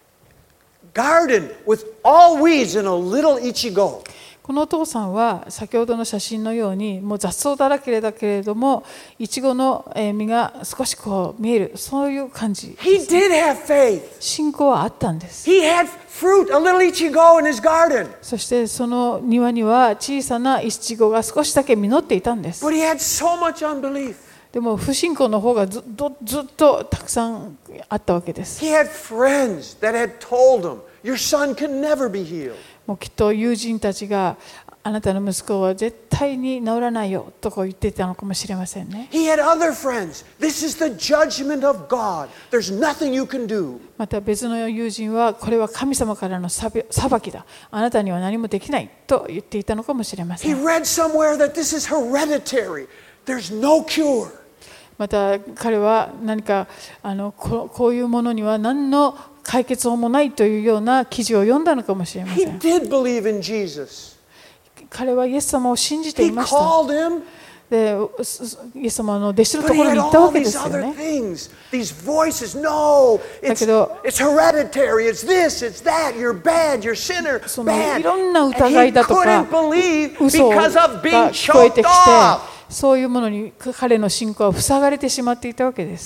garden with all weeds and a little ichigo. このお父さんは先ほどの写真のようにもう雑草だらけだけれどもイチゴの実が少しこう見える、そういう感じ。 He did have faith. 信仰はあったんです。 He had fruit, a little ichigo in his garden. そしてその庭には小さなイチゴが少しだけ実っていたんです。 But he had so much unbelief. でも不信仰の方がずっとずっとたくさんあったわけです。 He had friends that had told him, your son can never be healed. もうきっと友人たちがあなたの息子は絶対に治らないよとこう言っていたのかもしれませんね。 He had other friends. This is the judgment of God. There's nothing you can do. また別の友人はこれは神様からの裁きだ。あなたには何もできないと言っていたのかもしれませ He ん。 read somewhere that this is hereditary. There's no cure. また彼は何かあの こ, こういうものには何の解決法もないというような記事を読んだのかもしれませ He ん。 did believe in Jesus. 彼はイエス様を信じて He いました。 called him. でイエス様の弟子の But と he ころ had に行った all わけで these すよ other ね。 things, these voices. No, it's, だけど it's hereditary. It's this, it's that. You're bad. You're sinner. その Bad. いろんな And 疑 he いだとか couldn't believe 嘘 because が of being 聞こえて choked きて、 off. そういうものに彼の信仰は塞がれてしまっていたわけです。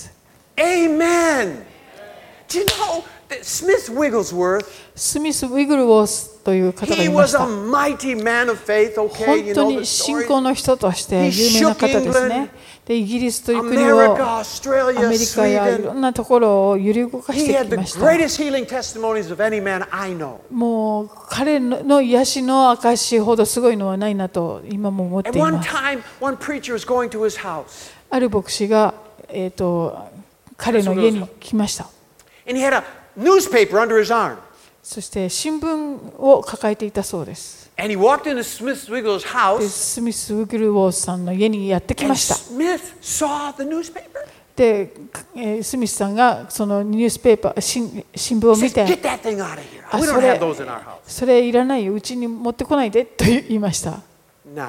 Amen. Do you know that Smith Wigglesworth, スミス・ウィグルウォースという方が he いま was し a た。 mighty man of faith, okay? You 本当 know the に信 story. 仰の人として有名な方ですね。でイギリスという国を America, ア Australia, メリカやいろ Sweden. んなところを揺り動かし He て had き the ました。 greatest healing testimonies of any man I know. もう彼の癒しの証ほどすごいのはないなと今も思って At い one ます。 time, one preacher was going to his house, ある牧師が、えー、と彼の家に来ました。 and he had a newspaper under his arm. そして新聞を抱えていたそうです。 And he walked into Smith Wigglesworth's で house, スミス・ウィグルウォースさんの家にやってき and ました。 Smith saw the newspaper. で、えースミスさんがそのニュースペーパー、新新聞を He 見 said, て、 get that thing out of here. あ We そ don't れ have those in our house. それいらないよ、うちに持ってこないでと言いました。 Now,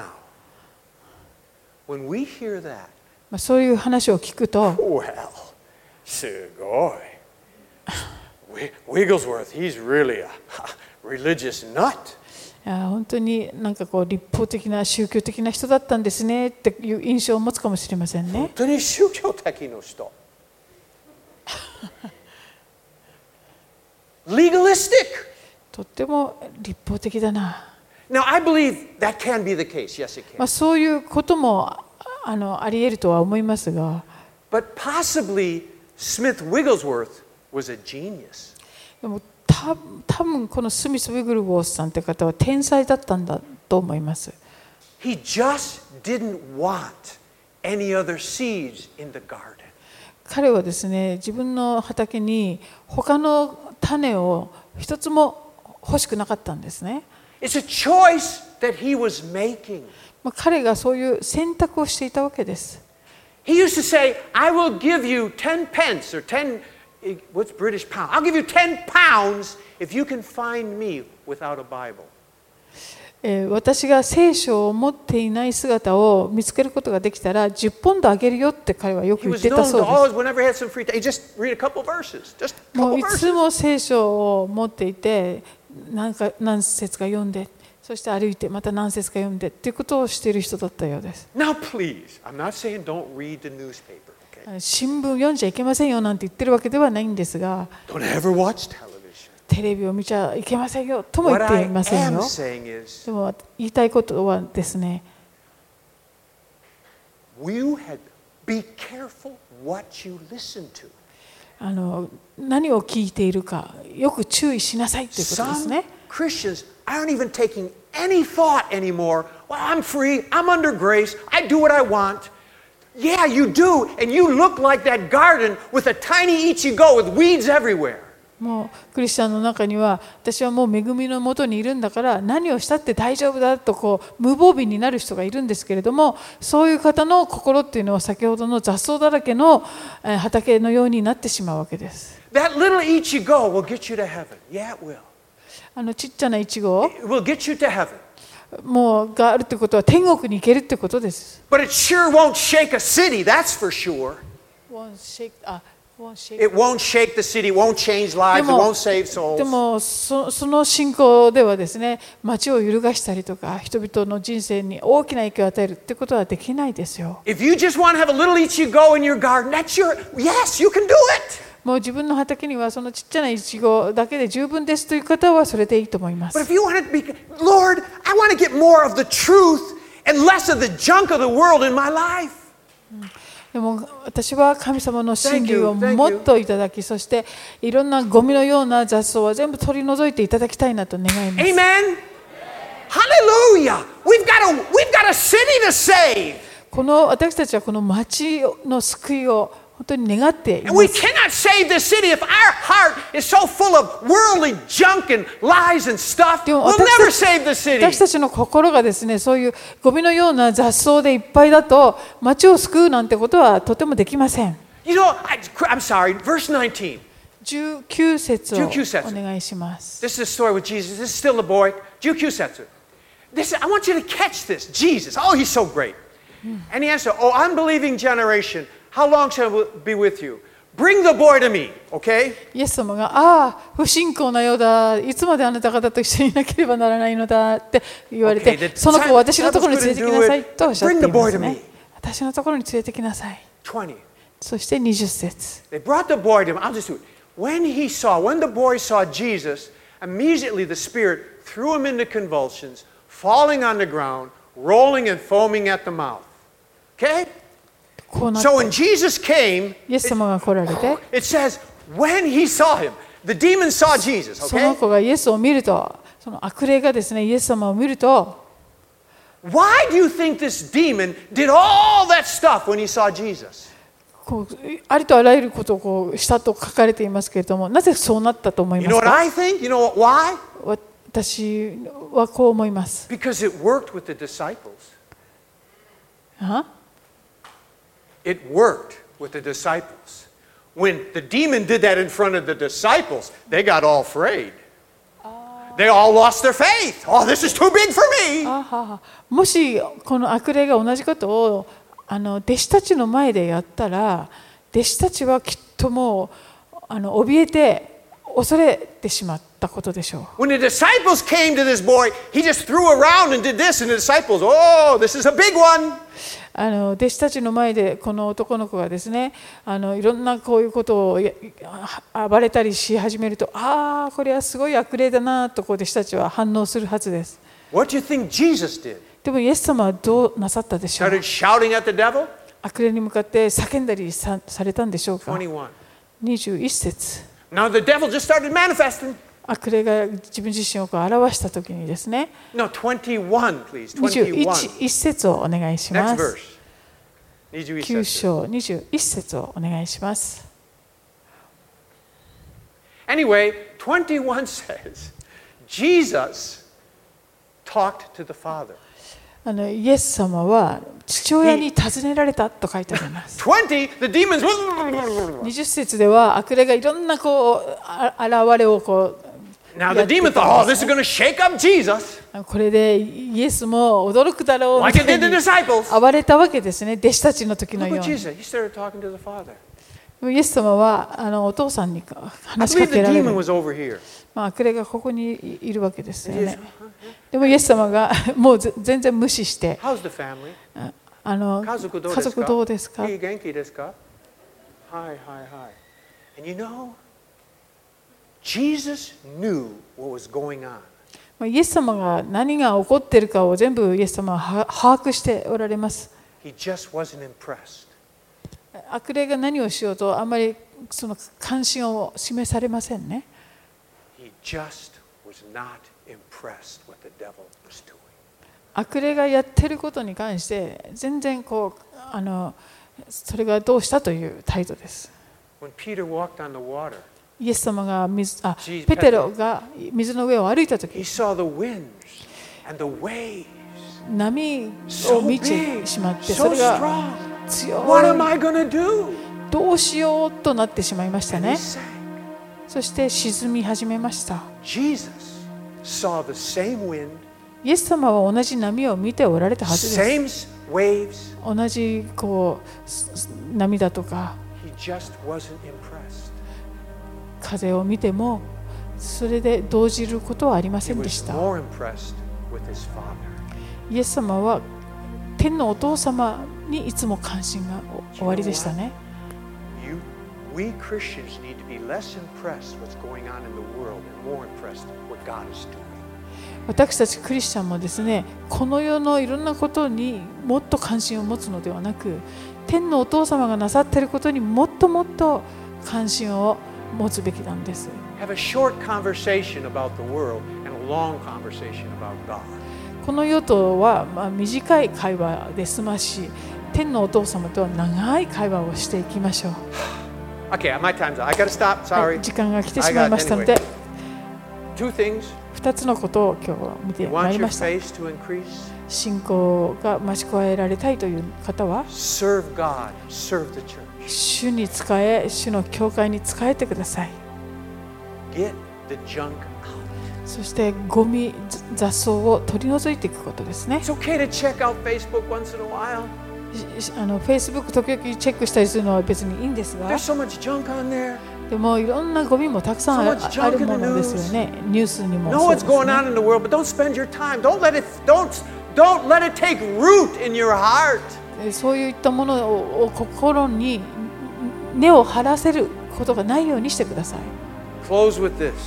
when we hear that, まあ、そういう話を聞くと、 well, すごい. Wigglesworth, he's really a religious nut. いや本当になんかこう立法的な宗教的な人だったんですねっていう印象を持つかもしれませんね。 本当に宗教的な人。Legalistic. とっても立法的だな。 Now, I believe that can be the case. Yes, it まあ can. そういうこともあのあり得るとは思いますが、 But possibly Smith Wigglesworth was a genius. でもた多分このスミス・ウィグルウォースさんって方は天才だったんだと思います。 He just didn't want any other seeds in the garden. 彼はですね、自分の畑に他の種を一つも欲しくなかったんですね。 It's a choice that he was making. まあ彼がそういう選択をしていたわけです。 He used to say, I will give you ten pence or ten, what's British pound? I'll give you ten pounds if you can find me without a Bible. えー私が聖書を持っていない姿を見つけることができたらじゅっポンドあげるよって彼はよく He 言っ was てた known そう to で always, whenever he had some free time, he just read a couple verses, just す。 a もう couple い verses. つも聖書を持っていて何か何節か読んで、そして歩いてまた何節か読んでっていうことをしている人だったようです。 Now, please, I'm not saying don't read the newspaper, okay? 新聞読んじゃいけませんよなんて言ってるわけではないんですが、 Don't ever watch television. テレビを見ちゃいけませんよとも言 What って I いません am よ。 saying is, でも言いたいことはですね、 you had be careful what you listen to. あの何を聞いているかよく注意しなさいということです Some ね。 Christians aren't even taking any thought anymore. Well, I'm free. I'm under grace. I do what I want. Yeah, you do. And you look like that garden with a tiny Ichigo with weeds everywhere. もうクリスチャンの中には私はもう恵みのもとにいるんだから何をしたって大丈夫だとこう無防備になる人がいるんですけれども、そういう方の心っていうのは先ほどの雑草だらけのえー畑のようになってしまうわけです。 That little Ichigo will get you to heaven. Yeah, it will. あのちっちゃなイチゴ It will get you to heaven. もうがあるってことは天国に行けるってことです。 But it sure won't shake a city, that's for sure. Won't shake- あ won't shake- It won't shake the city, it won't change で lives, it も won't save souls. でも そ, その信仰ではですね、町を揺るがしたりとか人々の人生に大きな影響を与えるってことはできないですよ。 If you just want to have a little Ichigo in your garden, that's your, yes, you can do it. もう自分の畑にはそのちっちゃなイチゴだけで十分ですという方はそれでいいと思いま But す。 if you want to be, Lord, I want to get more of the truth and less of the junk of the world in my life. でも私は神様の真理を Thank you, thank you. もっといただき、そしていろんなゴミのような雑草は全部取り除いていただきたいなと願います。 Amen. Hallelujah. We've got a, we've got a city to save. この私たちはこの町の救いを本当に願っていま And we す。 cannot save this city if our heart is so full of worldly junk and lies and stuff. でも We'll 私 never たち save the city. 私たちの心がですね、そういうゴミのような雑草でいっぱいだと町を救うなんてことはとてもできません。 You know, I, I'm sorry, verse nineteen. じゅうきゅう節をじゅうきゅう節お願いします。 This is a story with Jesus. This is still a boy. Jukyu Setsu. This, I want you to catch this. Jesus. Oh, he's so great. And he answered, Oh, unbelieving generation, how long shall I be with you? Bring the boy to me, okay? イエス様が、ああ、不信仰なようだ、いつまであなた方と一緒にいなければならないのだって言われて、 Okay, the その子を私のところに連れてきなさい disciples couldn't do it. とおっしゃってい Bring the ま boy す to ね me.。 私のところに連れてきなさい。 twenty. そしてにじゅう節。 They brought the boy to him. I'll just do it. When he saw, when the boy saw Jesus, immediately the Spirit threw him into convulsions, falling on the ground, rolling and foaming at the mouth. Okay? こうなって、 So when Jesus came, イエス様が来られて、 it says, when he saw him, the demon saw Jesus, その okay? 子がイエスを見ると、その悪霊がですね、イエス様を見ると、 Why do you think this demon did all that stuff when he saw Jesus? こうありとあらゆることをこうしたと書かれていますけれども、なぜそうなったと思い You ま know す what か？ I think? You know what, why? 私はこう思います。 Because it worked with the disciples. あ It worked with the disciples. When the demon did that in front of the disciples, they got all afraid. They all lost their faith. Oh, this is too big for me. あははもしこの悪霊が同じことをあの弟子たちの前でやったら、弟子たちはきっともうあの怯えて恐れてしまっったことでしょう。 When the disciples came to this boy, he just threw around and did this, and the disciples, oh, this is a big one. あの弟子たちの前でこの男の子がですね、あのいろんなこういうことを暴れたりし始めると、ああこれはすごい悪霊だなとこう弟子たちは反応するはずです。 What do you think Jesus did? でもイエス様はどうなさったでしょう。 Started shouting at the devil? 悪霊に向かって叫んだり さ, されたんでしょうか。 twenty-one. にじゅういち節。 Now the devil just started manifesting. 悪霊が自分自身をこう表したときにですね。 No, twenty-one, please. にじゅういち twenty-one. 節をお願いしま Next す。 verse. きゅう章にじゅういち節をお願いします。 Anyway, twenty-one says, Jesus talked to the Father. あのイエス様は父親に尋ねられたと書いてあります。 twenty, the demons. にじゅう節では悪霊がいろんなこうあ現れをこう Now the demon thought, oh, this is going to shake up Jesus. これでイエスも驚くだろうみ Like た it い did the に disciples. 暴れたわけですね、弟子たちの時の Look よう what に。 Jesus, he started talking to the Father. でもイエス様はあのお父さんに I 話しか believe the けられ demon る。 was over here. まあ悪霊がここにいるわけですよね。でもイエス様がもう全然無視して、 How's the family? あの家族どう家ですか？ 族どうですか？ いい元気ですか？はいはいはい。And you know, Jesus knew what was going on. イエス様が何が起こっているかを全部イエス様は把握しておられます。 He just wasn't impressed. 悪霊が何をしようとあんまりその関心を示されませんね。 He just was not impressed what the devil was doing. 悪霊がやってることに関して全然こうあのそれがどうしたという態度です。 When Peter walked on the water, イエス様が水あ Jesus- ペテロが水の上を歩いたと he き、 saw the winds and the waves 波 so を見 big, てしまって、 so それが strong. 強 What am い、 I going to do? どうしようとなってしまいました And he ね。 sank. そして沈み始めました。 Jesus saw the same wind, イエス様は同じ波を見ておられたはずです。 same waves. 同じこうす波だとか He just wasn't impressed. 風を見てもそれで動じることはありませ He んで was した。 more impressed with his father. イエス様は天のお父様にいつも関心がおおありでしたね。 You, we Christians need to be less impressed what's going on in the world and more impressed what God is doing. 私たちクリスチャンもですね、この世のいろんなことにもっと関心を持つのではなく、天のお父様がなさっていることにもっともっと関心を持つべきなんです。 Have a short conversation about the world and a long conversation about God. この世とはまあ短い会話で済まし、天のお父様とは長い会話をしていきましょう。 Okay, my time's up. I gotta stop. は Sorry. い、時間が来てしまいましたので、 Two things. ふたつのことを今日は見 You てま want いり your ました。 faith to increase? 信仰が増し加えられたいという方は、 Serve God. Serve the church. 主に仕え、主の教会に仕えてください。 Get the junk out. そしてゴミ、雑草を取り除いていくことですね。 It's okay to check out Facebook once in a while. しあの Facebook 時々チェックしたりするのは別にいいんですが、 There's so much junk on there. でもいろんなゴミもたくさんあ So much junk ある in the ものですよね。ニュースにも Know そう what's です going ね。 on in the world, but don't spend your time. Don't let it don't don't let it take root in your heart. そういったものを心に根を張らせることがないようにしてください。 Close with this.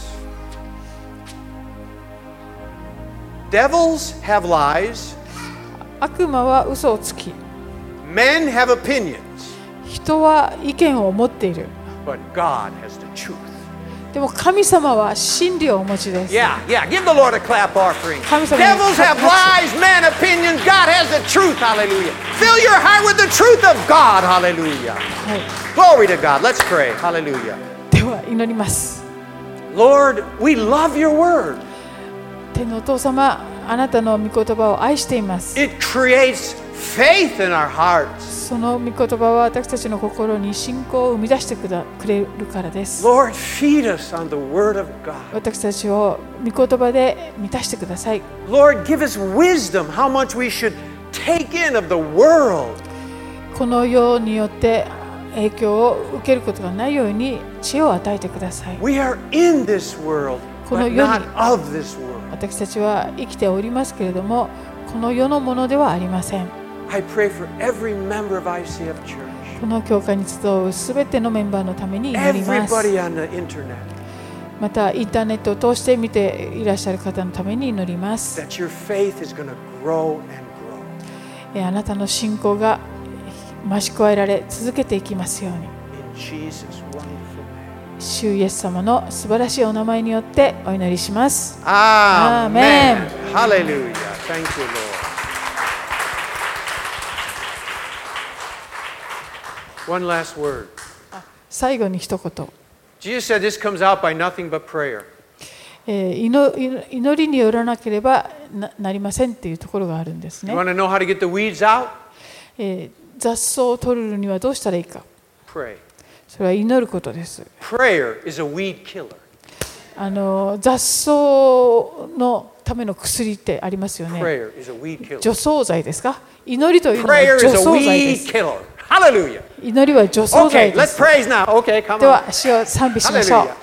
Devils have lies. 悪魔は嘘をつき、 Men have opinions. 人は意見を持っている。 But God has the truth. でも神様は真理をお持ちです。 Yeah, yeah. Give the Lord a clap offering. 神様に Devils have lies, men opinions. God has the truth. Hallelujah. Fill your heart with the truth of God. Hallelujah. はい、 Glory to God. Let's pray. Hallelujah. では祈ります。 Lord, we love your word. 天のお父様、あなたの御言葉を愛しています。 It creates faith in our hearts. その御言葉は私たちの心に信仰を生み出してくだくれるからです。 Lord, feed us on the word of God. 私たちを御言葉で満たしてください。 Lord, give us wisdom how much we should take in of the world. この世によって影響を受けることがないように知恵を与えてください。 We are in this world, この but 世に not of this world. 私たちは生きておりますけれども、この世のものではありません。 I pray for every member of I C F Church, この教会に集うすべてのメンバーのために祈ります。 everybody on the internet, またインターネットを通して見ていらっしゃる方のために祈ります。 that your faith is going to grow and grow. えーあなたの信仰が増し加えられ続けていきますように。 In Jesus' wonderful name. 主イエス様の素晴らしいお名前によってお祈りします。 Amen. Amen. Hallelujah. Thank you, Lord. One last word. 最後に一言、 Jesus said this comes out by nothing but prayer. えー祈祈りによらなければ な, なりませんっていうところがあるんですね。 You want to know how to get the weeds out? えー雑草を取るにはどうしたらいいか。 Pray. それは祈ることです。 Prayer is a weed killer. あの雑草のための薬ってありますよね。 Prayer is a weed killer. 除草剤ですか。祈りというのは Prayer 除 is a 草剤で weed す。 killer. Hallelujah. 祈りは除草剤 Okay, で let's す。 praise now. Okay, come では on. 主を賛美しましょう。